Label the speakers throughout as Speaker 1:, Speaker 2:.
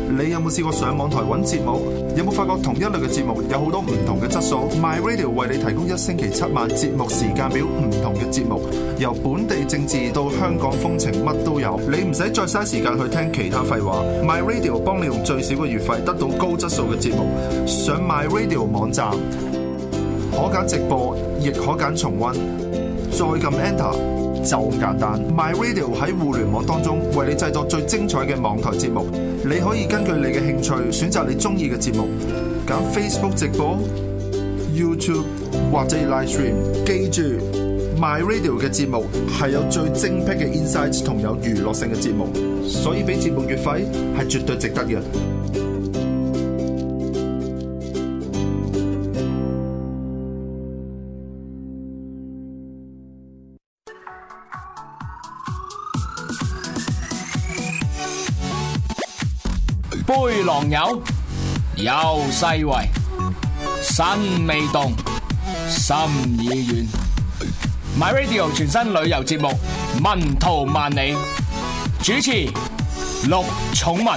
Speaker 1: 你有冇試過上網台揾節目？有冇發覺同一類嘅節目有好多唔同嘅質素 ？My Radio 為你提供1星期7晚節目時間表，唔同嘅節目，由本地政治到香港風情，乜都有。你唔使再嘥時間去聽其他廢話 ，My Radio 幫你用最少嘅月費得到高質素嘅節目。上 My Radio 網站，可揀直播，亦可揀重溫，再撳 Enter。就咁簡單 ，My Radio 喺互聯網當中為你製作最精彩嘅網台節目。你可以根據你嘅興趣選擇你中意嘅節目，揀 Facebook 直播、YouTube 或者 Live Stream。記住 ，My Radio 嘅節目係有最精闢嘅 insights 同有娛樂性嘅節目，所以俾節目月費係絕對值得嘅。
Speaker 2: 杯狼友，有世味，身未動，心已遠。My Radio 全新旅遊節目《文圖萬里》，主持陸寵文。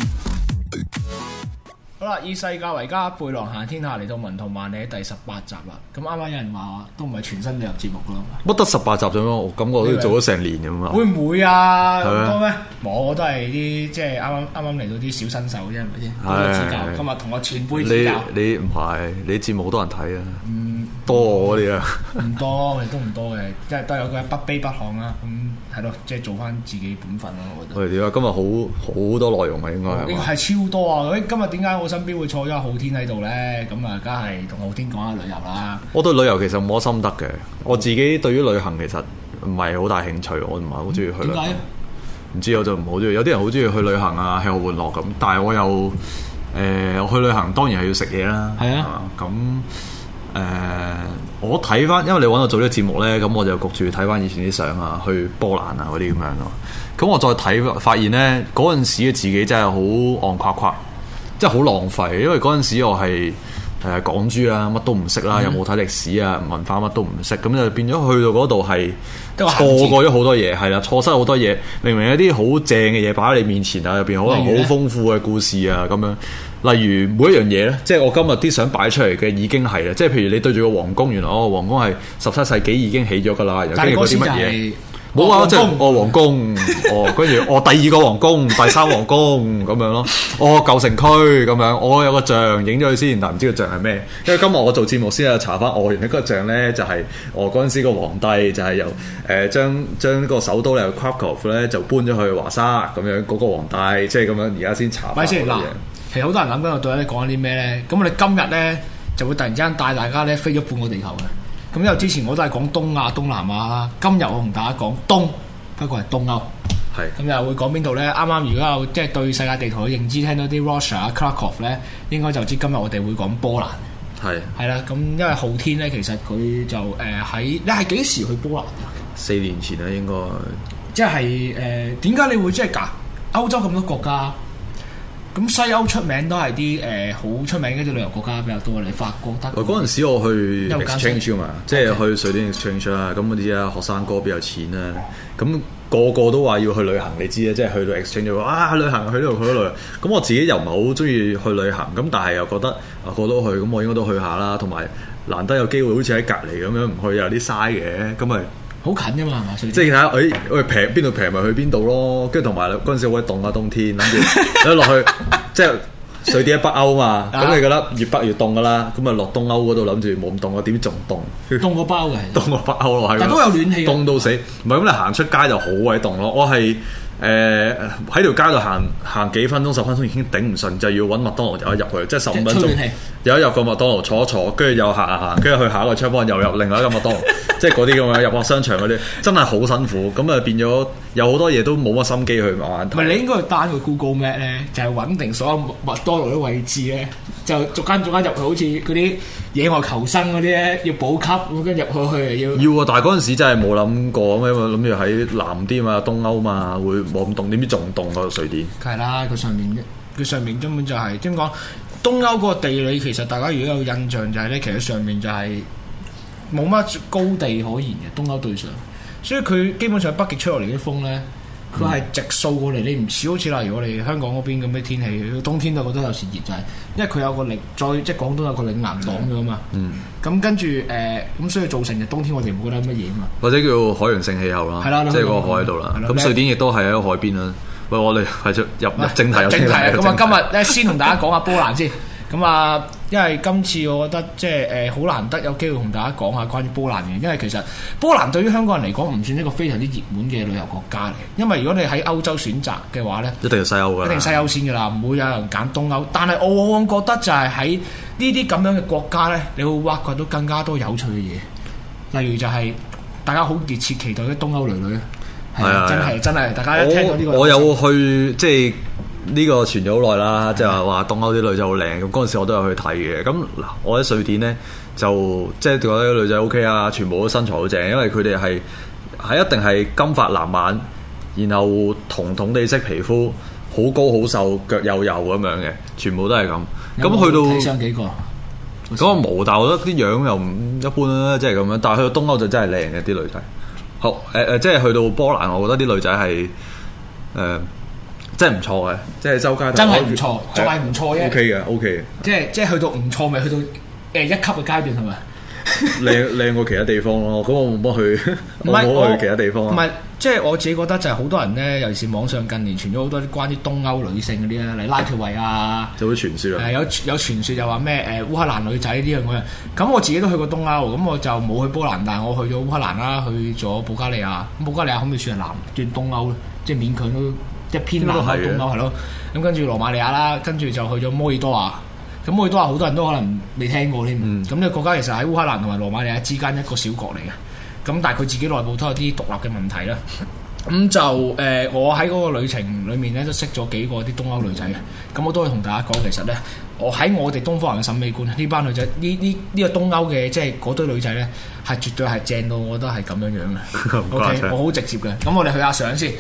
Speaker 2: 好啦，以世界為家，背囊行天下，嚟到《文圖萬里》第18集啦。咁啱啱有人話都唔係全新旅遊節目噶啦，
Speaker 3: 乜得18集啫嘛？我感覺都做咗成年咁啊！
Speaker 2: 會唔會啊？咁多咩？我都係啲即係啱啱嚟到啲小新手啫，係咪先？多多指教。今日同我前輩指教。你唔係你節目好多人睇啊？多我嗰啲啊？唔多，亦都唔多嘅，即係都有個不卑不亢啦。咁係咯，即係做翻自己本分咯。我覺得。喂，點啊？今日好多內容啊，應該係。應該係超多啊！今日點解我身邊會坐咗浩天喺度咧？咁啊，梗係同浩天講下旅遊啦。我對旅遊其實冇乜心得嘅，我自己對於旅行其實唔係好大興趣，我唔係好中意去旅行。點解？唔知，我就唔好中意。有啲人好中意去旅行啊，吃喝玩樂咁，但係我又我去旅行當然係要食嘢啦。係啊，咁。我睇翻，因為你揾我做呢個節目呢，咁我就焗住睇翻以前啲相啊，去波蘭啊嗰啲咁樣咯。咁我再睇，發現呢嗰陣時嘅自己真係好戇夸夸，即係好浪費。因為嗰陣時我係港豬啦，乜都唔識啦，又冇睇歷史啊，文化乜都唔識，咁就變咗去到嗰度係錯過咗好多嘢，係啦，錯失好多嘢。明明有啲好正嘅嘢擺喺你面前啊，入邊可能好豐富嘅故事啊咁樣。例如每一樣嘢咧，即係我今日啲相擺出嚟嘅已經係啦，即係譬如你對住個皇宮，原來皇宮係17世紀已經起咗㗎啦，又跟住嗰啲乜嘢？冇啊，即係皇宮，跟住第2個皇宮、第3皇宮咁樣咯，舊城區咁樣，我有個像影咗佢先，但唔知個像係咩？因為今日我做節目先查翻，原來嗰個像咧就係嗰陣時個皇帝就係由將呢個首都咧 Krakow 咧就搬咗去華沙咁樣，嗰個皇帝即係咁樣，而家先查翻嗰啲嘢。其實好多人諗緊我對你講緊啲咩咧？咁我哋今日咧就會突然之間帶大家咧飛咗半個地球嘅。咁因為之前我都係講東亞、東南亞啦，今日我同大家講東，不過係東歐。係。咁又會講邊度咧？啱啱如果有即係對世界地圖嘅認知，聽到啲 Russia 啊、Krakow 咧，應該就知今日我哋會講波蘭。係。係啦，咁因為浩天咧，其實佢就喺你係幾時去波蘭？4年前啦，應該。即係點解你會即係歐洲咁多國家？咁西歐出名都係啲好出名嘅啲旅遊國家比較多，你法國得。嗰陣時我去 exchange 嘛，即係去瑞典 exchange 啦。咁嗰啲學生哥邊有錢啊？咁個個都話要去旅行，你知啊？即係去到 exchange 話去旅行，去呢度去嗰度。咁我自己又唔係好中意去旅行，咁但係又覺得過到去，咁我應該都去下啦。同埋難得有機會，好似喺隔離咁樣，唔去有啲嘥嘅，咁咪。好近㗎嘛，係嘛？即係睇下，平邊度平咪去邊度咯。跟住同埋嗰陣時好鬼凍啊，冬天諗住落去，即係瑞典喺北歐嘛。咁你覺得越北越凍㗎啦。咁啊落東歐嗰度諗住冇咁凍啊，點知仲凍？凍過北歐嘅，凍過北歐咯，係。但都有暖氣。凍到死，唔係咁你行出街就好鬼凍咯。我係喺條街度行幾分鐘10分鐘已經頂唔順，就要揾麥當勞有一入去，即係15分鐘有一入個麥當勞坐一坐，跟住又行，跟住去下一個窗房又入另外一個麥當勞，即係嗰啲咁樣入個商場嗰啲，真係好辛苦。咁啊變咗有好多嘢都冇乜心機去慢慢睇。唔係你應該去 down 個 Google Map 咧，就係揾定所有麥當勞啲位置咧，就逐間入去，好似嗰啲野外求生嗰啲咧，要補給咁跟住入去要啊！但係嗰陣時真係冇諗過咁樣，諗住喺南啲嘛，東歐嘛，會冇咁凍，點知仲凍過瑞典？係啦，佢上面根本就係點講？東歐嗰個地理其實大家如果有印象就係咧，其實上面就係冇乜高地可言嘅東歐對上，所以佢基本上北極吹落嚟啲風咧，
Speaker 4: 佢係直掃過嚟，你唔似好似例如我哋香港嗰邊咁嘅天氣，冬天就覺得有時熱就係，因為佢有個嶺，再即係廣東有個嶺南擋咗嘛。咁跟住咁所以造成就冬天我哋唔覺得乜嘢啊嘛。
Speaker 2: 或者叫海洋性氣候啦，即係個海喺度啦。咁瑞典亦都係喺個海邊啦。喂，我哋係入正題。
Speaker 4: 正題啊！咁啊，今日咧先同大家講下波蘭先。咁啊，因為今次我覺得即係好難得有機會同大家講下關於波蘭嘅，因為其實波蘭對於香港人嚟講唔算一個非常之熱門嘅旅遊國家嚟。因為如果你喺歐洲選擇嘅話咧，
Speaker 2: 一定係西歐㗎，
Speaker 4: 一定西歐先㗎啦，唔會有人揀東歐。但係我往往覺得就係喺呢啲咁樣嘅國家咧，你會挖掘到更加多有趣嘅嘢，例如就係大家好熱切期待嘅東歐女女。係啊，真係，大家一聽到呢個，
Speaker 2: 我有去即係呢個傳咗好耐啦，即係話東歐啲女仔好靚，咁嗰陣時我都有去睇嘅。咁嗱，我喺瑞典咧就即係覺得啲女仔 OK 啊，全部都身材好正，因為佢哋係一定係金髮藍眼，然後銅銅地色皮膚，好高好瘦，腳幼幼咁樣嘅，全部都係咁。咁去到
Speaker 4: 睇上幾個？
Speaker 2: 嗰個冇，但係我覺得啲樣又唔一般啦，即係咁樣。但係去到東歐就真係靚嘅啲女仔。好即係去到波蘭，我覺得啲女仔係真係唔錯嘅，即係周街
Speaker 4: 真係唔錯，仲係唔錯嘅。
Speaker 2: OK 嘅，OK
Speaker 4: 嘅。即係去到唔錯，咪去到一級嘅階段係咪？
Speaker 2: 靚過其他地方咯。咁我冇乜去，我冇去其他地方。
Speaker 4: 唔係，即係我自己覺得就係好多人咧，尤其是網上近年傳咗好多啲關於東歐女性嗰啲咧，嚟拉脫維啊，
Speaker 2: 就會傳説啊。
Speaker 4: 有傳説又話咩烏克蘭女仔呢樣嗰樣。咁我自己都去過東歐，咁我就冇去波蘭，但係我去咗烏克蘭啦，去咗保加利亞。咁保加利亞可唔可以算係南轉東歐咧？即係勉強都一偏南歐東歐係咯。咁跟住羅馬尼亞啦，跟住就去咗摩爾多瓦。咁摩爾多瓦好多人都可能未聽過添。咁呢個國家其實喺烏克蘭同埋羅馬尼亞之間一個小國嚟嘅。咁但係佢自己內部都有啲獨立嘅問題啦。咁就我喺嗰個旅程裡面咧都識咗幾個啲東歐女仔嘅。咁我都會同大家講，其實咧我喺我哋東方人嘅審美觀，呢班女仔呢個東歐嘅即係嗰堆女仔咧係絕對係正到，我覺得係咁樣樣嘅。OK， 我好直接嘅。咁我哋去下相先。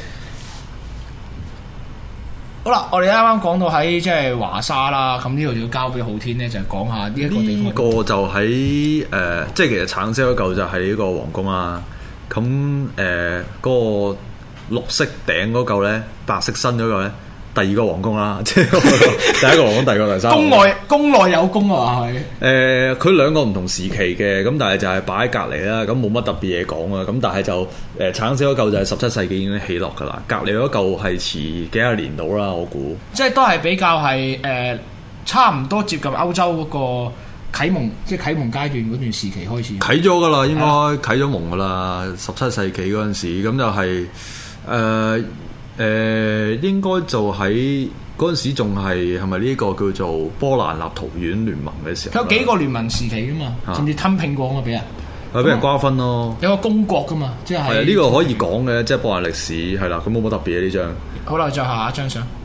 Speaker 4: 好啦，我哋啱啱講到喺即係華沙啦，咁呢度就要交俾浩天咧，就係講下呢一個地方。
Speaker 2: 呢個就喺即係其實橙色嗰嚿就係呢個皇宮啦。咁嗰個綠色頂嗰嚿咧，白色身嗰嚿咧，第二個皇宮啦，即係第一個皇宮，第二個第三個。宮內有宮啊，係。佢兩個唔同時期嘅，咁但係就係擺喺隔離啦，咁冇乜特別嘢講啊。咁但係就橙色嗰嚿就係17世紀已經起落㗎啦，隔離嗰嚿係遲幾廿年到啦，我估。
Speaker 4: 即係都係比較係差唔多接近歐洲嗰個啟蒙，即係啟蒙階段嗰段時期開始。
Speaker 2: 啟咗㗎啦，應該啟咗蒙㗎啦。17世紀嗰陣時，咁就係應該就喺嗰陣時仲係咪呢個叫做波蘭立陶宛聯盟嘅時候？
Speaker 4: 有幾個聯盟時期㗎嘛，甚至吞併過啊嘛，俾人。
Speaker 2: 係俾人瓜分咯。
Speaker 4: 有個公國㗎嘛，即係。係啊，
Speaker 2: 呢個可以講嘅，即係波蘭歷史係啦。咁冇乜特別嘅呢張。
Speaker 4: 好啦，再下一張相。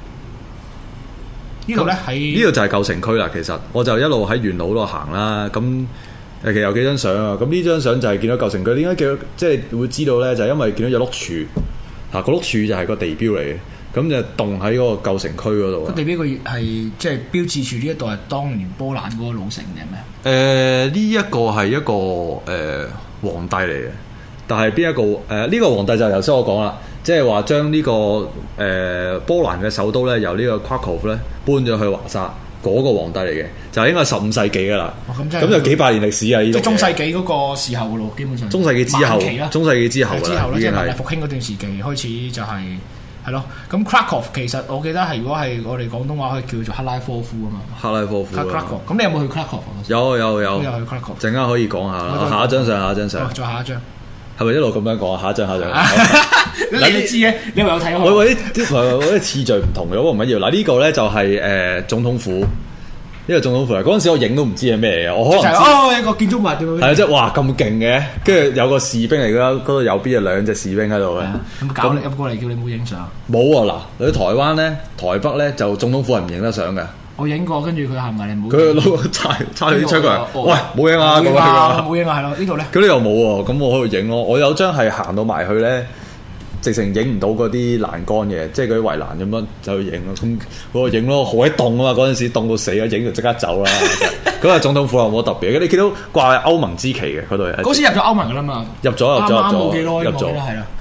Speaker 4: 呢度咧喺
Speaker 2: 呢度就係舊城區啦。其實我就一路喺沿路度行啦。咁其實有幾張相啊。咁呢張相就係見到舊城區。點解叫即係會知道咧？就係因為見到有碌柱。嗱，個碌柱就係個地標嚟嘅。咁就棟喺嗰個舊城區嗰度。個
Speaker 4: 地標個係即係標誌住呢一度係當年波蘭嗰個老城定係咩？
Speaker 2: 呢一個係一個皇帝嚟嘅，但係邊一個呢個皇帝就頭先我講啦，即係話將呢個波蘭嘅首都咧由呢個 Krakow 咧搬咗去華沙，嗰個皇帝嚟嘅，就應該係15世紀噶啦。咁就幾百年歷史啊！呢
Speaker 4: 即係中世紀嗰個時候嘅咯，基本上。
Speaker 2: 中世紀之後，中世紀之後
Speaker 4: 啦，即係文藝復興嗰段時期開始就係。係咯，咁 Krakow 其實我記得係如果係我哋廣東話可以叫做克拉科夫啊嘛。克拉科夫。Krakow， 咁你有冇去 Krakow？
Speaker 2: 有。
Speaker 4: 都有去 Krakow。
Speaker 2: 陣間可以講下啦。下一張相。再
Speaker 4: 下一張。
Speaker 2: 係咪一路咁樣講啊？下一張。
Speaker 4: 你都知嘅，你有睇過？
Speaker 2: 我啲次序唔同嘅，不過唔緊要。嗱呢個咧就係總統府。呢個總統府嗰陣時我影都唔知係咩嚟嘅，我可能
Speaker 4: 一個建築物點樣？
Speaker 2: 係啊，即係哇咁勁嘅，跟住有個士兵嚟㗎，嗰度右邊有2隻士兵喺度嘅。
Speaker 4: 有冇搞你入過嚟叫你冇影相？
Speaker 2: 冇啊！嗱，喺台灣咧、台北咧就總統府係唔影得相嘅。
Speaker 4: 我影過，跟住佢行埋嚟冇。
Speaker 2: 佢攞叉啲槍過嚟，喂冇影啊！
Speaker 4: 冇影啊，係咯，呢度咧。
Speaker 2: 佢呢又冇喎，咁我喺度影咯。我有張係行到埋去咧。直情影唔到嗰啲欄杆嘅，即係嗰啲圍欄咁樣就去影咯。咁嗰個影咯，好鬼凍啊嘛！嗰陣時凍到死啊，影就即刻走啦。嗰個總統府有冇特別？你見到掛歐盟之旗嘅嗰度。
Speaker 4: 嗰時入咗歐盟噶啦嘛。
Speaker 2: 入咗。
Speaker 4: 啱冇幾耐，入咗。係啦。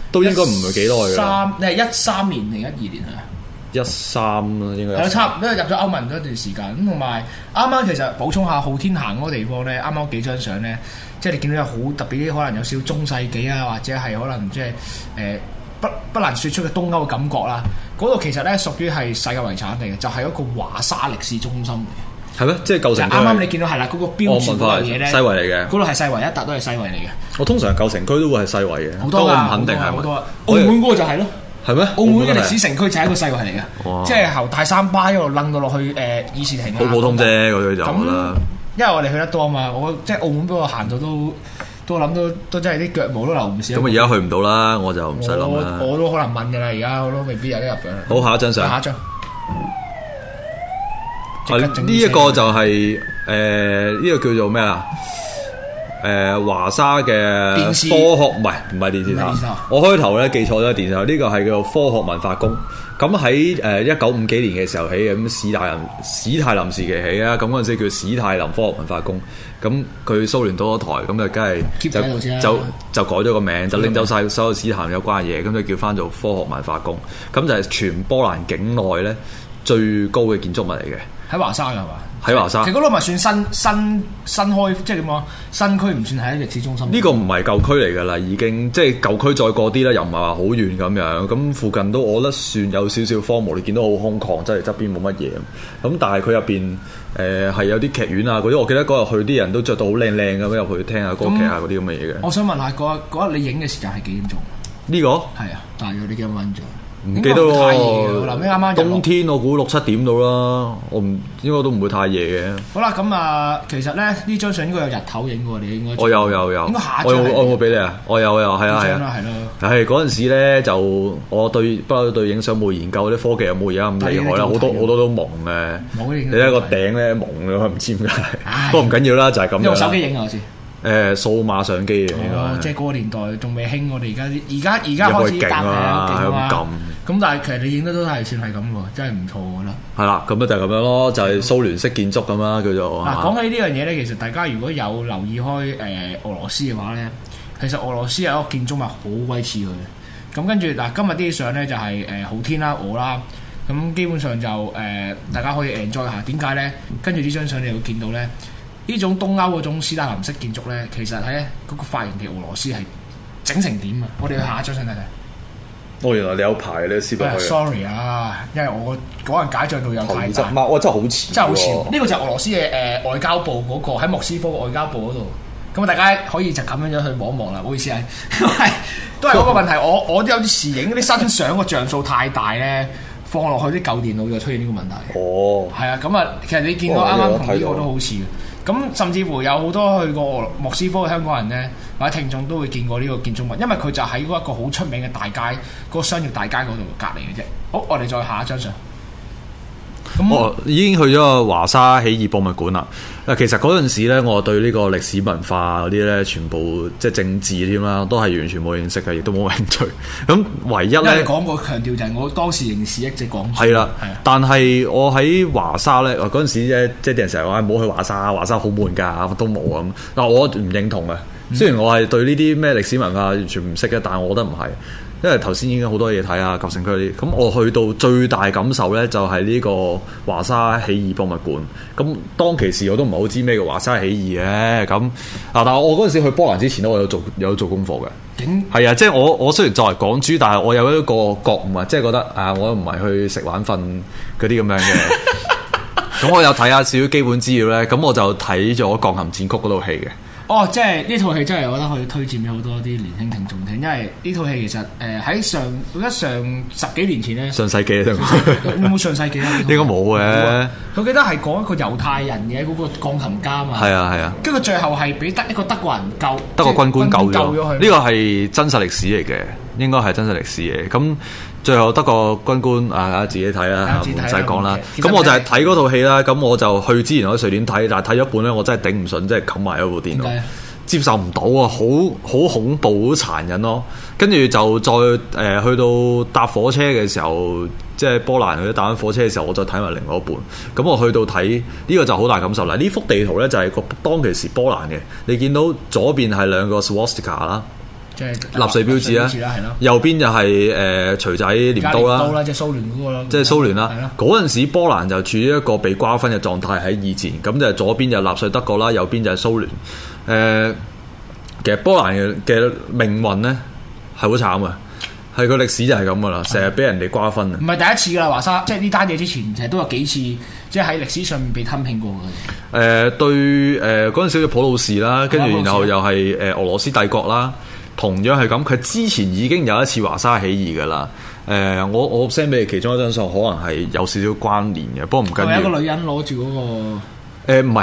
Speaker 2: 都應該唔係幾耐㗎啦。
Speaker 4: 你係13年定12年啊
Speaker 2: ？13啦，應該
Speaker 4: 係咯，差唔多入咗歐盟嗰段時間。咁同埋啱啱其實補充下，昊天行嗰個地方咧，啱啱幾張相咧，即係你見到有好特別啲，可能有少少中世紀啊，或者係可能即係不難説出嘅東歐嘅感覺啦。嗰度其實咧屬於係世界遺產嚟嘅，就係一個華沙歷史中心嚟嘅。
Speaker 2: 係咩？即係舊城區。
Speaker 4: 啱啱你見到係啦，嗰個標誌嗰樣嘢咧，
Speaker 2: 西圍嚟嘅。
Speaker 4: 嗰度係西圍，一笪都係西圍嚟嘅。
Speaker 2: 我通常舊城區都會係西圍嘅，
Speaker 4: 好多
Speaker 2: 我唔肯定係
Speaker 4: 好多。澳門嗰個就係咯。
Speaker 2: 係咩？
Speaker 4: 澳門嘅歷史城區就係一個西圍嚟嘅，即係由大三巴一路掕到落去議事亭。
Speaker 2: 好普通啫，嗰啲就啦。
Speaker 4: 因為我哋去得多啊嘛，我即係澳門俾我行到都諗都真係啲腳毛都流唔少。
Speaker 2: 咁而家去唔到啦，我就唔使諗啦。
Speaker 4: 我都可能問㗎啦，而家我都未必有得入嘅。
Speaker 2: 好，下一張相。
Speaker 4: 下一張。
Speaker 2: 呢一個就係呢個叫做咩啊？華沙嘅科學唔係電視塔。我開頭咧記錯咗電視塔，呢個係叫做科學文化宮。咁喺1950幾年嘅時候起嘅，咁史太林時期起啊。咁嗰陣時叫史太林科學文化宮。咁佢蘇聯倒咗台，咁就梗係就改咗個名，就拎走晒所有史太林有關嘅嘢，咁就叫翻做科學文化宮。咁就係全波蘭境內咧最高嘅建築物嚟嘅。
Speaker 4: 喺華沙㗎係嘛？
Speaker 2: 喺華沙，
Speaker 4: 其實嗰度咪算新開，即係點講？新區唔算係喺歷史中心。呢
Speaker 2: 個唔係舊區嚟㗎啦，已經即係舊區再過啲啦，又唔係話好遠咁樣。咁附近都我覺得算有少少荒蕪，你見到好空曠，即係側邊冇乜嘢。咁但係佢入邊係有啲劇院啊嗰啲，我記得嗰日去啲人都着到好靚靚咁入去聽下歌劇啊嗰啲咁嘅嘢嘅。
Speaker 4: 我想問下嗰日你影嘅時間係幾點鐘？
Speaker 2: 呢個
Speaker 4: 係啊，大約你幾多分鐘？
Speaker 2: 唔記得喎，
Speaker 4: 啱啱
Speaker 2: 冬天我估6、7點到啦，我唔應該都唔會太夜嘅。
Speaker 4: 好啦，咁啊，其實咧呢張相應該有日頭影喎，你應該。我
Speaker 2: 有。
Speaker 4: 應該下張。
Speaker 2: 我有冇俾你啊？我有，係啊。
Speaker 4: 係咯。
Speaker 2: 係嗰陣時咧，就我不嬲對影相冇研究，啲科技又冇而家咁厲害啦，好多都蒙嘅。你睇個頂咧蒙嘅，唔知點解。不過唔緊要啦，就係咁樣。
Speaker 4: 用手機影啊，我先。
Speaker 2: 數碼相機嘅，
Speaker 4: 即係嗰個年代仲未興，我哋而家開始搭
Speaker 2: 咁。
Speaker 4: 咁但係其實你影得都係算係咁喎，真係唔錯我覺得。
Speaker 2: 係啦，咁就係咁樣咯，就係蘇聯式建築咁啦，叫做。
Speaker 4: 嗱，講起呢樣嘢咧，其實大家如果有留意開俄羅斯嘅話咧，其實俄羅斯有一個建築物好鬼似佢嘅。咁跟住嗱，今日啲相咧就係昊天啦、俄啦，咁基本上就大家可以 enjoy 下。點解咧？跟住呢張相你會見到咧，呢種東歐嗰種斯大林式建築咧，其實喺嗰個發源地俄羅斯係整成點啊！我哋去下一張相睇睇。
Speaker 2: 原來你有排你試過去。
Speaker 4: Sorry 啊，因為我嗰陣解像度有太大。
Speaker 2: 哇！真係好似。
Speaker 4: 真係好似。呢個就係俄羅斯嘅外交部嗰個喺莫斯科嘅外交部嗰度。咁大家可以就咁樣去望一望啦。唔好意思啊，都係嗰個問題。我都有啲時影啲新相個像素太大咧，放落去啲舊電腦就出現呢個問題。係啊，咁啊，其實你見到啱啱同呢個都好似嘅。咁甚至乎有好多去過莫斯科嘅香港人咧，或者聽眾都會見過呢個建築物，因為佢就喺嗰一個好出名嘅大街，嗰個商業大街嗰度隔離嘅啫。好，我哋再下一張相。
Speaker 2: 我已經去咗個華沙起義博物館啦。其實嗰陣時咧，我對呢個歷史文化嗰啲咧，全部即係政治添啦，都係完全冇認識嘅，亦都冇興趣。咁唯一咧，
Speaker 4: 你講過強調就係我當時認事一直講。
Speaker 2: 係啦，但係我喺華沙咧，嗰陣時咧，即係啲人成日話唔好去華沙，華沙好悶㗎，都冇咁。但我唔認同嘅。雖然我係對呢啲咩歷史文化完全唔識嘅，但係我覺得唔係。因為頭先已經好多嘢睇啊，舊城區啲，咁我去到最大感受咧，就係呢個華沙起義博物館。咁當其時我都唔係好知咩叫華沙起義嘅，咁但係我嗰陣時去波蘭之前咧，我有做功課嘅。係啊，即係我雖然作為港豬，但係我有一個覺悟啊，即係覺得啊，我唔係去食玩瞓嗰啲咁樣嘅。咁我有睇下少少基本資料咧，咁我就睇咗《鋼琴戰曲》嗰套戲嘅。
Speaker 4: 即係呢套戲真係我覺得可以推薦俾好多啲年輕聽眾聽，因為呢套戲其實喺上10幾年前咧，
Speaker 2: 上世紀啊，
Speaker 4: 有冇上世紀啊？
Speaker 2: 應該冇嘅。
Speaker 4: 佢記得係講一個猶太人嘅嗰個鋼琴家嘛。係
Speaker 2: 啊。跟
Speaker 4: 住最後係俾一個德國人
Speaker 2: 德國軍官救咗
Speaker 4: 佢。
Speaker 2: 呢個係真實歷史嚟嘅，應該係真實歷史嘅。咁最後德國軍官自己睇啦，唔使講啦。咁我就係睇嗰套戲啦。咁我就去之前我喺瑞典睇，但係睇咗一半咧，我真係頂唔順，即係冚埋一部電腦，接受唔到啊！好恐怖，好殘忍咯。跟住就再去到搭火車嘅時候，即係波蘭去搭緊火車嘅時候，我再睇埋另外一半。咁我去到睇呢個就好大感受啦。呢幅地圖咧就係個當其時波蘭嘅，你見到左邊係兩個 swastika 啦。
Speaker 4: 即係
Speaker 2: 納粹標誌啦，
Speaker 4: 係咯。
Speaker 2: 右邊就係錘仔鐮刀啦，
Speaker 4: 即係蘇聯嗰個咯。
Speaker 2: 即係蘇聯啦。
Speaker 4: 係咯。
Speaker 2: 嗰陣時波蘭就處於一個被瓜分嘅狀態喺二戰，咁就左邊就納粹德國啦，右邊就係蘇聯。其實波蘭嘅命運咧係好慘嘅，係個歷史就係咁噶啦，成日俾人哋瓜分啊！
Speaker 4: 唔係第一次噶啦，華沙即係呢單嘢之前，其實都有幾次，即係喺歷史上面被吞併過嘅。
Speaker 2: 對嗰陣時嘅普魯士啦，跟住然後又係俄羅斯帝國啦，同樣係咁。佢之前已經有一次華沙起義噶啦。我 send 俾你其中一張相，可能係有少少關聯嘅，不過唔緊要。
Speaker 4: 係一個女人攞住嗰個。
Speaker 2: 唔係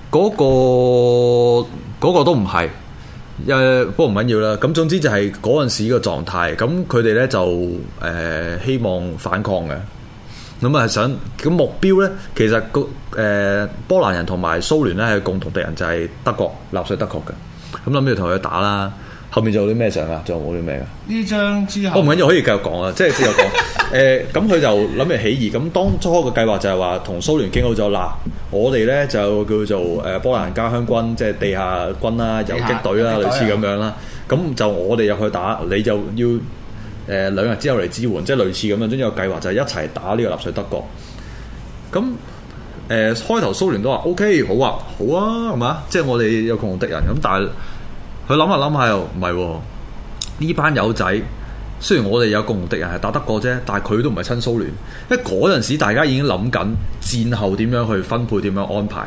Speaker 2: 嗰個都唔係。不過唔緊要啦。咁總之就係嗰陣時嘅狀態。咁佢哋咧就希望反抗嘅。咁啊想咁目標咧，其實波蘭人同埋蘇聯咧係共同敵人，就係德國納粹德國嘅。咁諗住同佢打啦。後面仲有啲咩相啊？仲有冇啲咩噶？
Speaker 4: 呢張之後，
Speaker 2: 唔緊要，可以繼續講啊！即係繼續講。咁佢就諗住起義。咁當初嘅計劃就係話同蘇聯傾好咗嗱，我哋咧就叫做波蘭家鄉軍，即係地下軍啦、游擊隊啦，類似咁樣啦。咁就我哋入去打，你就要2日之後嚟支援，即係類似咁樣。總之有計劃就係一齊打呢個納粹德國。咁開頭蘇聯都話 OK， 好啊，係嘛？即係我哋有共同敵人咁，但係佢諗下又唔係喎，呢班友仔雖然我哋有共同敵人係打德國啫，但係佢都唔係親蘇聯，因為嗰陣時大家已經諗緊戰後點樣去分配、點樣安排。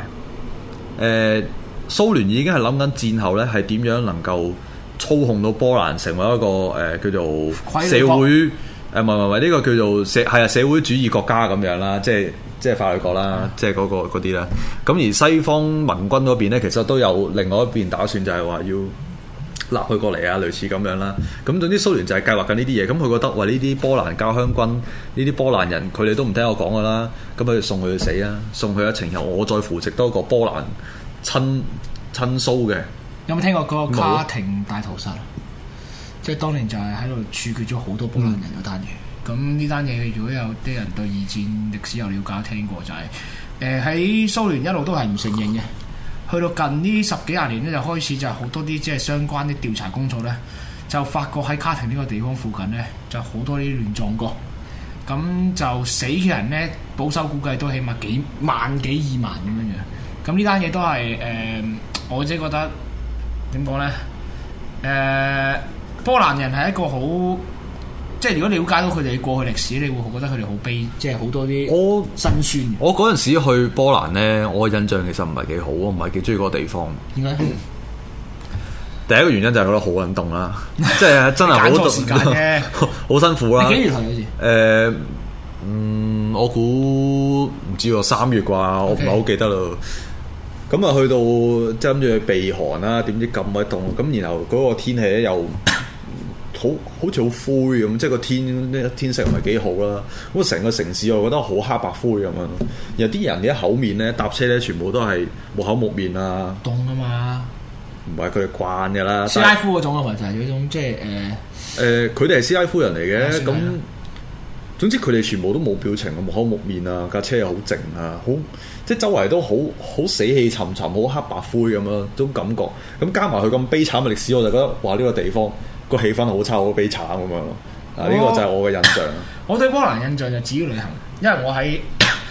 Speaker 2: 蘇聯已經係諗緊戰後咧係點樣能夠操控到波蘭成為一個叫做社會唔係呢個叫做社會主義國家咁樣啦，即係法律國啦，即係嗰啲啦。咁而西方盟軍嗰邊咧，其實都有另外一邊打算，就係話要納佢過嚟啊，類似咁樣啦。咁總之蘇聯就係計劃緊呢啲嘢。咁佢覺得話呢啲波蘭家鄉軍，呢啲波蘭人，佢哋都唔聽我講噶啦。咁佢就送佢去死啦，送佢一程，然後我再扶植多個波蘭親蘇嘅。
Speaker 4: 有冇聽過嗰個卡廷大屠殺？即係當年就係喺度處決咗好多波蘭人嗰單嘢。咁呢單嘢如果有啲人對二戰歷史有了解，聽過就係喺蘇聯一路都係唔承認嘅。去到近呢10幾廿年咧，就開始就好多啲即係相關啲調查工作咧，就發覺喺卡廷呢個地方附近咧，就好多啲亂葬崗。咁就死嘅人咧，保守估計都起碼幾萬幾2萬咁樣樣。咁呢單嘢都係我自己覺得點講咧？波蘭人係一個好，即係如果了解到佢哋過去歷史，你會覺得佢哋好悲，即係好多啲辛酸。
Speaker 2: 我嗰陣時去波蘭咧，我嘅印象其實唔係幾好，我唔係幾中意嗰個地方。
Speaker 4: 點解？
Speaker 2: 第一個原因就係覺得好冷凍啦，即係真係好凍，
Speaker 4: 時間啫，
Speaker 2: 好辛苦啦。
Speaker 4: 你幾月去好似？
Speaker 2: 我估唔知喎，3月啩，我唔係好記得咯。咁啊，去到即係諗住去避寒啦，點知咁鬼凍，咁然後嗰個天氣咧又好似好灰咁，即係個天色唔係幾好啦。咁成個城市我覺得好黑白灰咁樣。然後啲人嘅口面咧，搭車咧，全部都係木口木面啊，
Speaker 4: 凍啊嘛。
Speaker 2: 唔係佢哋慣嘅啦，
Speaker 4: 斯拉夫嗰種啊，或者係嗰種即係
Speaker 2: 佢哋係斯拉夫人嚟嘅。咁總之佢哋全部都冇表情，木口木面啊，架車又好靜啊，好即係周圍都好死氣沉沉，好黑白灰咁樣種感覺。咁加埋佢咁悲慘嘅歷史，我就覺得話呢個地方個氣氛好差，好悲慘咁樣咯。呢個就係我嘅印象。我
Speaker 4: 對波蘭印象就至於旅行，因為我喺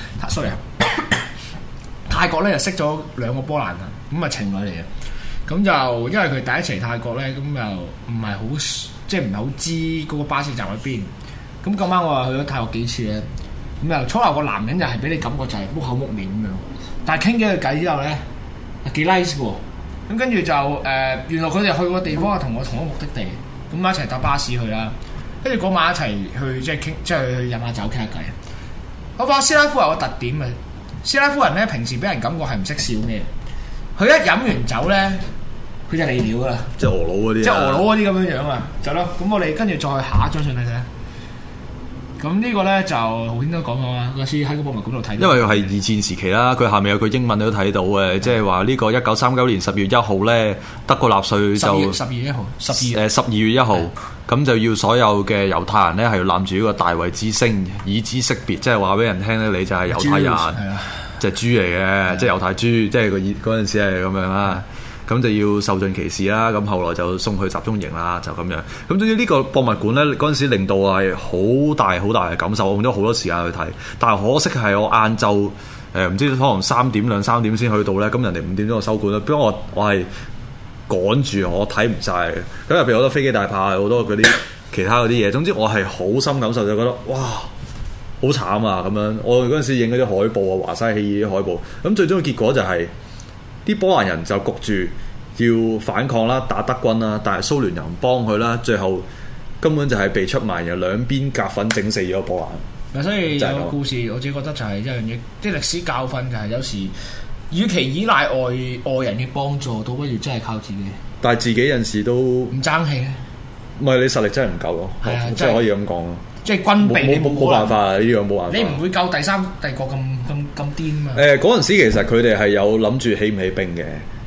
Speaker 4: 泰國咧就識咗2個波蘭人，咁啊情侶嚟嘅。咁就因為佢第一次嚟泰國咧，咁又唔係好即係唔係好知嗰個巴士站喺邊。咁咁啱我又去咗泰國幾次咧，咁又初頭個男人就係俾你感覺就係木口木面咁樣，但係傾幾句偈之後咧，幾 nice 喎。咁跟住就原來佢哋去個地方係同我同一個目的地，咁一齊搭巴士去啦。跟住嗰晚一齊去即係傾，即係去飲下酒傾下偈。我發覺斯拉夫有個特點嘅，斯拉夫人咧平時俾人感覺係唔識笑咩，佢一飲完酒咧，佢就嚟料噶啦，
Speaker 2: 即係俄佬嗰啲，
Speaker 4: 即係俄佬嗰啲咁樣樣啊，就咯。咁我哋跟住再下一張相睇睇。咁呢個咧就豪軒都講過啦，嗰次喺個博物館度睇。因為
Speaker 2: 係二戰時期啦，佢下面有句英文你都睇到嘅，即係話呢個1939年10月1號咧，德國納粹就
Speaker 4: 12月1號
Speaker 2: 12月1號，咁就要所有嘅猶太人咧係要攬住呢個大衛之星，以之識別，即係話俾人聽咧，你就係猶太人，即係豬嚟嘅，即係猶太豬，即係嗰陣時係咁樣啦。 咁就要受盡歧視啦。咁後來就送去集中營啦，就咁樣。咁總之呢個博物館咧，嗰陣時令到我係好大嘅感受，我用咗好多時間去睇。但係可惜係我晏晝唔知可能2、3點先去到咧，咁人哋5點鐘就收館啦。不過我係趕住，我睇唔晒嘅。咁入邊好多飛機大炮，好多嗰啲其他嗰啲嘢。總之我係好深感受，就覺得哇好慘啊咁樣。我嗰陣時影嗰啲海報啊，華沙起義啲海報。咁最終嘅結果就係、啲波蘭人就焗住要反抗啦，打德軍啦，但係蘇聯又唔幫佢啦，最後根本就係被出賣，由兩邊夾粉整死咗波蘭。
Speaker 4: 所以有個故事，我自己覺得就係一樣嘢，啲歷史教訓就係有時，與其依賴外人嘅幫助，倒不如真係靠自己。
Speaker 2: 但係自己有陣時都
Speaker 4: 唔爭氣咧，
Speaker 2: 唔係你實力真係唔夠咯，即係可以咁講咯。
Speaker 4: 即係軍備你
Speaker 2: 冇辦法啊！呢樣冇辦法。
Speaker 4: 你唔會夠第三帝國咁癲嘛？
Speaker 2: 嗰陣時其實佢哋係有諗住起唔起兵嘅。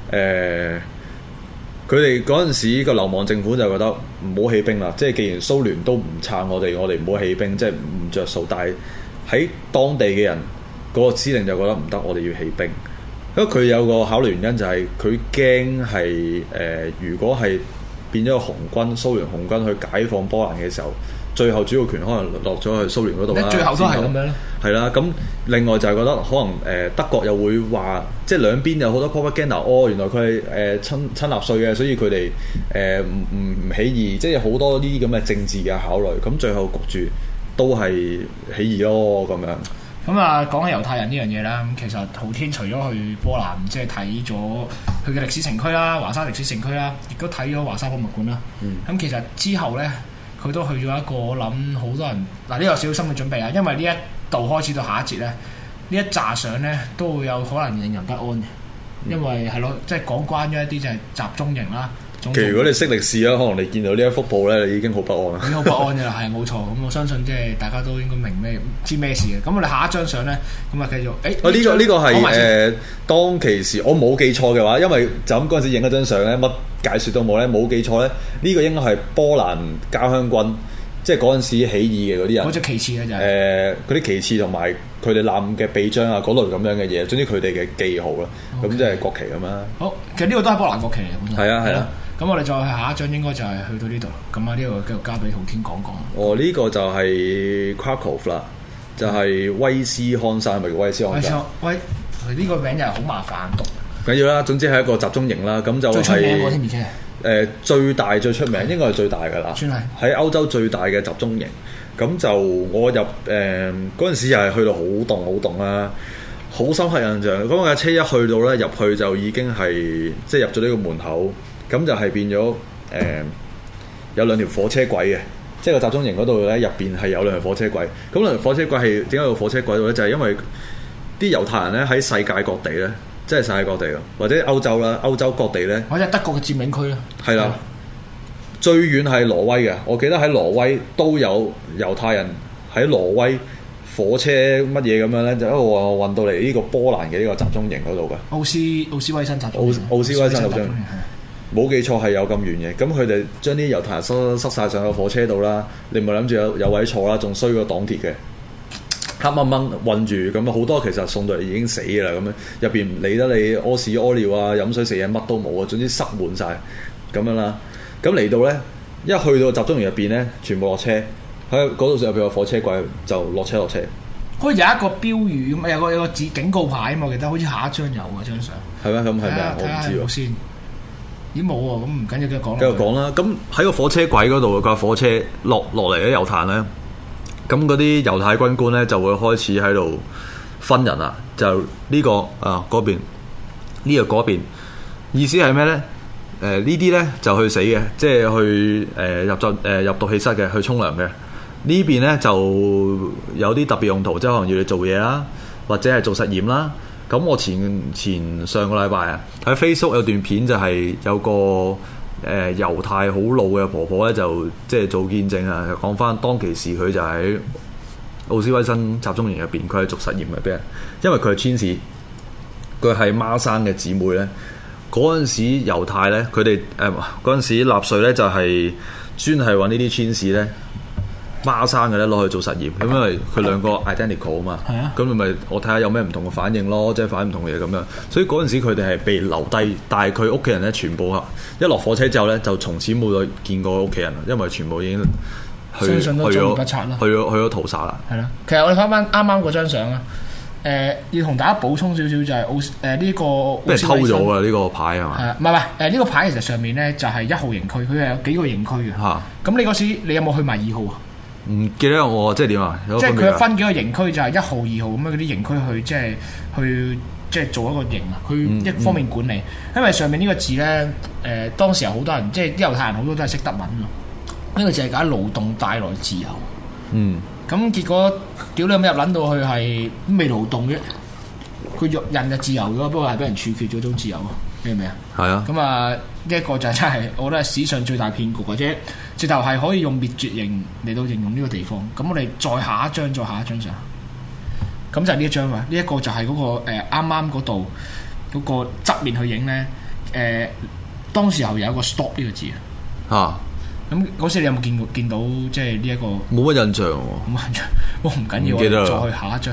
Speaker 2: 佢哋嗰陣時個流亡政府就覺得唔好起兵啦，即係既然蘇聯都唔撐我哋唔好起兵，即係唔着數。但係喺當地嘅人嗰個司令就覺得唔得，我哋要起兵。因為佢有個考慮原因就係佢驚係如果係變咗個紅軍蘇聯紅軍去解放波蘭嘅時候，最後主要權可能落咗去蘇聯嗰度啦。
Speaker 4: 最後都係咁樣咧。係
Speaker 2: 啦，咁另外就係覺得可能德國又會話，即係兩邊有好多 propaganda，原來佢係親納粹嘅，所以佢哋唔起義，即係好多呢啲咁嘅政治嘅考慮。咁最後焗住都係起義咯咁樣。
Speaker 4: 咁啊，講起猶太人呢樣嘢啦，咁其實浩天除咗去波蘭，即係睇咗佢嘅歷史城區啦，華沙歷史城區啦，亦都睇咗華沙博物館啦。咁其實之後咧，佢都去咗一個，我諗好多人嗱呢個有少少心理準備啊，因為呢一度開始到下一節咧，呢一紮相咧都會有可能令人不安嘅，因為係咯，即係講關於一啲就係集中營啦。
Speaker 2: 其實如果你識歷史啦，可能你見到呢一幅布咧，你已經好不安啦。
Speaker 4: 已經好不安嘅啦，係冇錯。咁我相信即係大家都應該明知咩事嘅。咁我哋下一張相咧，咁啊繼續。呢個
Speaker 2: 係當其時我冇記錯嘅話，因為就咁嗰陣時影嗰張相咧，乜解説都冇咧，冇記錯咧，呢個應該係波蘭交響軍，即係嗰陣時起義嘅嗰啲人。
Speaker 4: 嗰隻旗幟嘅就係
Speaker 2: 嗰啲旗幟同埋佢哋攬嘅臂章啊，嗰類咁樣嘅嘢，總之佢哋嘅記號啦，咁即係國旗咁啦。
Speaker 4: 好，其實呢個都係波蘭國旗嚟嘅本身。
Speaker 2: 係啊係啊。
Speaker 4: 咁我哋再下一張應該就係去到呢度，咁啊呢個繼續交俾浩天講講。
Speaker 2: 哦，呢個就係 Krakow 啦，就係威斯康山，係咪叫威斯康山？
Speaker 4: 喂，呢個名又係好麻煩讀。
Speaker 2: 緊要啦，總之係一個集中營啦，咁就係
Speaker 4: 最出名嗰添，而且
Speaker 2: 最大最出名，應該係最大㗎啦。
Speaker 4: 算係
Speaker 2: 喺歐洲最大嘅集中營。咁就我入嗰陣時又係去到好凍啦，好深刻印象。嗰架車一去到咧，入去就已經係即係入咗呢個門口。咁就係變咗有兩條火車軌嘅，即係個集中營嗰度咧，入邊係有兩條火車軌。咁兩條火車軌係點解有火車軌度咧？就係因為啲猶太人咧喺世界各地咧，即係世界各地咯，或者歐洲啦，歐洲各地咧，
Speaker 4: 或者德國嘅佔領區啦，
Speaker 2: 係啦，最遠係挪威嘅。我記得喺挪威都有猶太人喺挪威火車乜嘢咁樣咧，就一路運到嚟呢個波蘭嘅呢個集中營嗰度嘅。
Speaker 4: 奧斯威辛集中營。
Speaker 2: 奧斯威辛集中營。冇記錯係有咁遠嘅，咁佢哋將啲猶太人塞晒上個火車度啦，你唔係諗住有位坐啦，仲衰過擋鐵嘅，黑掹掹韞住，咁好多其實送到嚟已經死嘅啦，咁樣入邊唔理得你屙屎屙尿啊、飲水食嘢乜都冇啊，總之塞滿晒咁樣啦。咁嚟到咧，一去到集中營入邊咧，全部落車，喺嗰度入邊有火車軌就落車。
Speaker 4: 好似有一個標語咁，有個警告牌啊嘛，我記得好似下一張有啊張相。
Speaker 2: 係咩？咁係咩啊？我唔知喎。
Speaker 4: 先。咦冇喎，咁唔緊要，繼續講。
Speaker 2: 繼續講啦，咁喺個火車軌嗰度架火車落嚟嘅猶太咧，咁嗰啲猶太軍官咧就會開始喺度分人啦，就呢個啊嗰邊，呢個嗰邊，意思係咩咧？呢啲咧就去死嘅，即係去入毒氣室嘅，去沖涼嘅。呢邊咧就有啲特別用途，即係可能要你做嘢啦，或者係做實驗啦。咁我前上個禮拜啊，喺 Facebook 有段片就係有個猶太好老嘅婆婆咧，就即係做見證啊，講翻當其時佢就喺奧斯威辛集中營入邊，佢係做實驗嘅俾人，因為佢係天使，佢係孖生嘅姊妹咧。嗰陣時猶太咧，佢哋嗰陣時納粹咧就係專係揾呢啲天使咧， 孖生嘅咧攞去做實驗，咁因為佢兩個 identical 啊嘛，
Speaker 4: 係啊，
Speaker 2: 咁咪我睇下有咩唔同嘅反應咯，即係反應唔同嘅嘢咁樣。所以嗰陣時佢哋係被留低，但係佢屋企人咧全部一落火車之後咧，就從此冇再見過屋企人啦，因為全部已經
Speaker 4: 相信都遭遇不測啦，
Speaker 2: 去咗屠殺啦。
Speaker 4: 係啦，其實我哋翻啱啱嗰張相啊。要同大家補充少少就係呢個
Speaker 2: 俾人偷咗啊！呢個牌係嘛？
Speaker 4: 係啊，唔係呢個牌其實上面咧就係1號營區，佢係有幾個營區嘅。嚇！咁你嗰時你有冇去埋2號啊？
Speaker 2: 唔記得我即係點啊？
Speaker 4: 即係佢有分幾個營區，就係1號、2號咁樣嗰啲營區去做一個營啊。佢一方面管理，因為上面呢個字咧當時有好多人即係啲猶太人好多都係識德文㗎。呢個字係解勞動帶來自由。嗯。咁結果屌你咁入撚到去係未勞動嘅，佢人就自由咗，不過係俾人處決咗種自由，明唔明啊？係啊。咁啊，呢一個就真係我覺得係史上最大騙局，或者直頭係可以用滅絕型嚟到形容呢個地方。咁我哋再下一張相，咁就係呢一張啊！呢一個就係嗰個啱啱嗰度嗰個側面去影咧，當時候有一個 stop 呢個字啊。咁嗰時你有冇見到即係呢一個？
Speaker 2: 冇乜印象喎。
Speaker 4: 冇印象，唔緊要，我再去下一張。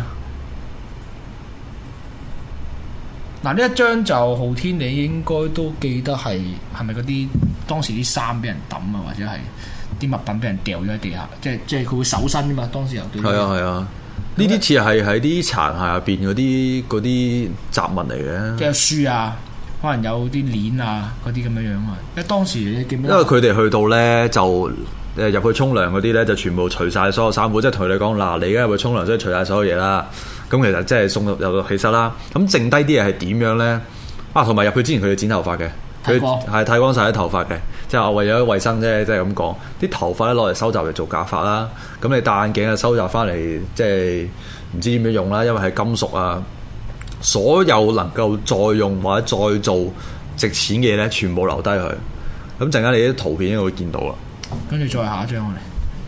Speaker 4: 嗱，呢一張就浩天，你應該都記得係咪嗰啲當時啲衫俾人抌啊，或者係啲物品俾人掉咗喺地下，即係佢會搜身㗎嘛？當時有對。係
Speaker 2: 啊。呢啲似係喺啲殘骸入邊嗰啲雜物嚟嘅。
Speaker 4: 即係書啊。可能有啲鏈啊，嗰啲咁樣樣啊。因為當時你記唔記得？
Speaker 2: 因為佢哋去到咧就入去沖涼嗰啲咧，就全部除晒所有衫褲，即係同你講嗱，你而家入去沖涼，所以除晒所有嘢啦。咁其實即係送入到氣室啦。咁剩低啲嘢係點樣咧？同埋入去之前佢哋剪頭髮嘅，佢係剃光晒啲頭髮嘅，即係為咗衞生啫，即係咁講。啲頭髮咧攞嚟收集嚟做假髮啦。咁你戴眼鏡啊，收集翻嚟即係唔知點樣用啦，因為係金屬啊。所有能夠再用或者再做值錢嘅嘢咧，全部留低佢。咁陣間你啲圖片應該會見到啦。
Speaker 4: 跟住再下一張我哋。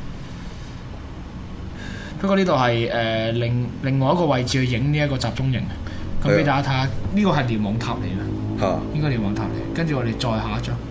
Speaker 4: 不過呢度係另外一個位置去影呢一個集中營。咁俾大家睇下，呢個係瞭望塔嚟嘅。嚇！應該瞭望塔嚟。跟住我哋再下一張。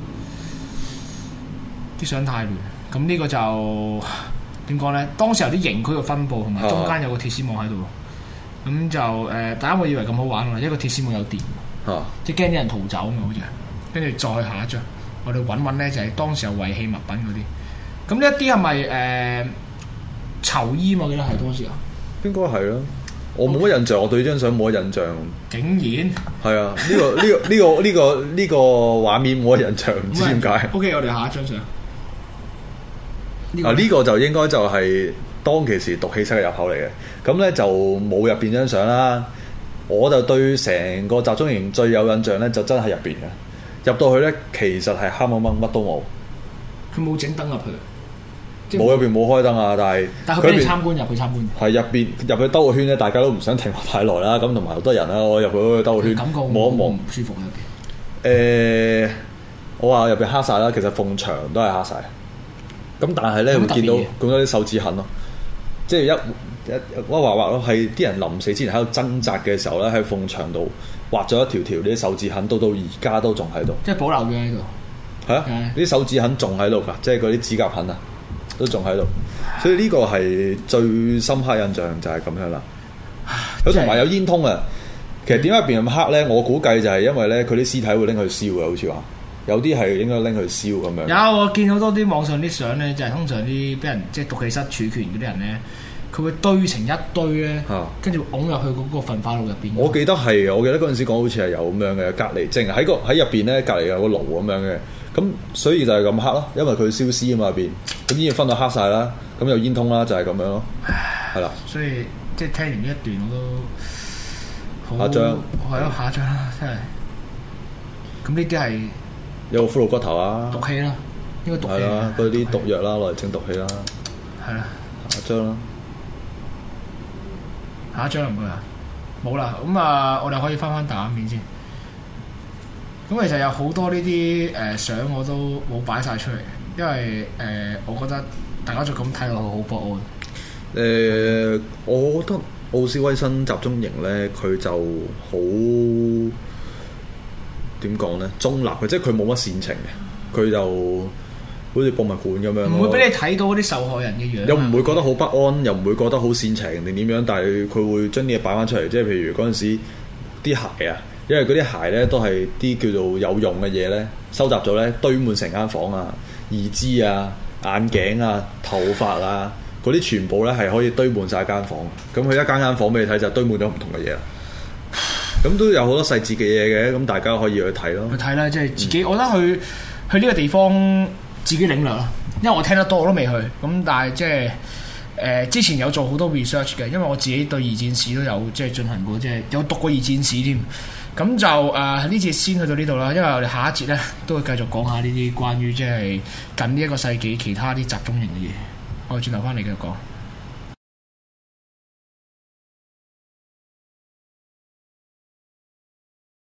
Speaker 4: 啲相太亂。咁呢個就點講咧？當時有啲營區嘅分佈，同埋中間有個鐵絲網喺度。咁就大家會以為咁好玩喎，一個鐵絲網有電，即係驚啲人逃走嘛，好似。跟住再下一張，我哋揾咧就係當時有遺棄物品嗰啲。咁呢一啲係咪囚衣嘛？我記得係當時啊。
Speaker 2: 應該係咯，我冇乜印象，我對呢張相冇乜印象。
Speaker 4: 竟然
Speaker 2: 係啊！呢個畫面冇乜印象，唔知點解。
Speaker 4: OK， 我哋下一張相。
Speaker 2: 呢個就應該就係當其時毒氣室嘅入口嚟嘅。咁咧就冇入邊張相啦，我就對成個集中營最有印象咧，就真係入邊嘅。入到去咧，其實係黑掹掹，乜都冇。
Speaker 4: 佢冇整燈入去，
Speaker 2: 冇入邊冇開燈啊！但係
Speaker 4: 佢俾你參觀入去參觀。
Speaker 2: 係入去兜個圈咧，大家都唔想停太耐啦。咁同埋好多人啦，我入去兜個圈，
Speaker 4: 感覺
Speaker 2: 望一望
Speaker 4: 唔舒服入邊。
Speaker 2: 我話入邊黑晒啦，其實埲牆都係黑晒。咁但係咧會見到咁多啲手指痕咯，即係我畫咯，係啲人臨死之前喺度掙扎嘅時候咧，喺埲牆度畫咗一條啲手指痕，到而家都仲喺度。
Speaker 4: 即係保留咗喺度。
Speaker 2: 係啊，啲手指痕仲喺度㗎，即係嗰啲指甲痕啊，都仲喺度。所以呢個係最深刻印象就係咁樣啦。佢同埋有煙通啊。其實點解入邊咁黑咧？我估計就係因為咧，佢啲屍體會拎去燒嘅，好似話有啲係應該拎去燒咁樣。
Speaker 4: 有我見好多啲網上啲相咧，就係通常啲俾人即係毒氣室處決嗰啲人咧。佢會堆成一堆咧，跟住拱入去嗰個焚化爐入邊。我記得
Speaker 2: 嗰陣時講好似係有咁樣嘅，隔離即係喺入邊咧，隔離有個爐咁樣嘅。咁所以就係咁黑咯，因為佢燒屍啊嘛入邊，咁煙分到黑晒啦，咁有煙通啦，就係咁樣咯，係啦。
Speaker 4: 所以即係聽完呢一段我都好。下張係咯，下張啦，真係。咁呢啲係
Speaker 2: 有個骷髏骨頭啊，
Speaker 4: 毒氣啦，應該毒氣。係
Speaker 2: 啦，嗰啲毒藥啦，攞嚟整毒氣啦。
Speaker 4: 係啦，
Speaker 2: 下張啦。
Speaker 4: 下一張唔該啊，冇啦，咁啊，我哋可以翻大畫面先。咁其實有好多呢啲相我都冇擺晒出嚟，因為我覺得大家就咁睇落去好不安。
Speaker 2: 我覺得奧斯威辛集中營咧，佢就好點講咧，中立嘅，即係佢冇乜煽情嘅，佢就好似博物館咁樣，
Speaker 4: 唔會俾你睇到嗰啲受害人嘅樣，
Speaker 2: 又唔會覺得好不安，又唔會覺得好煽情定點樣，但係佢會將啲嘢擺翻出嚟，即係譬如嗰陣時啲鞋啊，因為嗰啲鞋咧都係啲叫做有用嘅嘢咧，收集咗咧堆滿成間房啊，義肢啊、眼鏡啊、頭髮啊，嗰啲全部咧係可以堆滿晒間房，咁佢一間房俾你睇就堆滿咗唔同嘅嘢啦。咁都有好多細節嘅嘢嘅，咁大家可以去睇咯。
Speaker 4: 去睇啦，即係自己，我覺得去呢個地方自己領略咯。因為我聽得多，我都未去。咁但係即係之前有做好多 research 嘅，因為我自己對二戰史都有即係進行過，即係有讀過二戰史添。咁就呢節先去到呢度啦，因為我哋下一節咧都會繼續講下呢啲關於即係近呢一個世紀其他啲集中營嘅嘢。我哋轉頭翻嚟繼續講。